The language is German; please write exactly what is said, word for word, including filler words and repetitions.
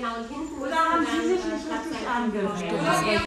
genau, und hinten Oder haben Sie sich nicht richtig angehört?